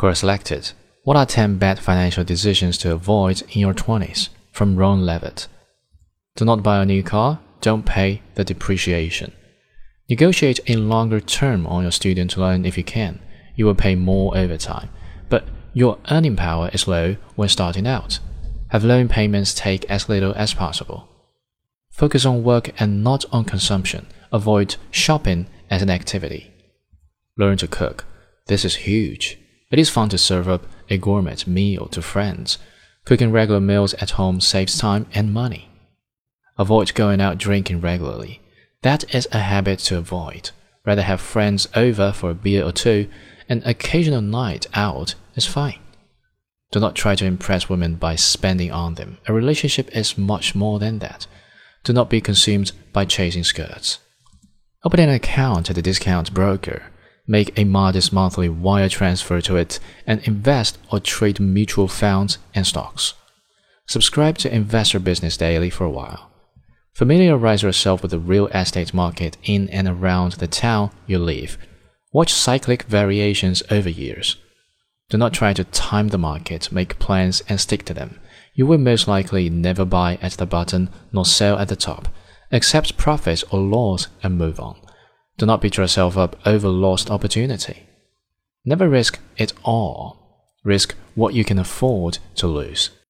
Pre-selected. What are 10 bad financial decisions to avoid in your 20s? From Ron Levitt. Do not buy a new car. Don't pay the depreciation. Negotiate a longer term on your student loan if you can. You will pay more over time. But your earning power is low when starting out. Have loan payments take as little as possible. Focus on work and not on consumption. Avoid shopping as an activity. Learn to cook. This is huge. It is fun to serve up a gourmet meal to friends. Cooking regular meals at home saves time and money. Avoid going out drinking regularly. That is a habit to avoid. Rather have friends over for a beer or two. An occasional night out is fine. Do not try to impress women by spending on them. A relationship is much more than that. Do not be consumed by chasing skirts. Open an account at a discount broker. Make a modest monthly wire transfer to it and invest or trade mutual funds and stocks. Subscribe to Investor Business Daily for a while. Familiarize yourself with the real estate market in and around the town you live. Watch cyclic variations over years. Do not try to time the market, make plans and stick to them. You will most likely never buy at the bottom nor sell at the top. Accept profits or loss and move on. Do not beat yourself up over lost opportunity. Never risk it all. Risk what you can afford to lose.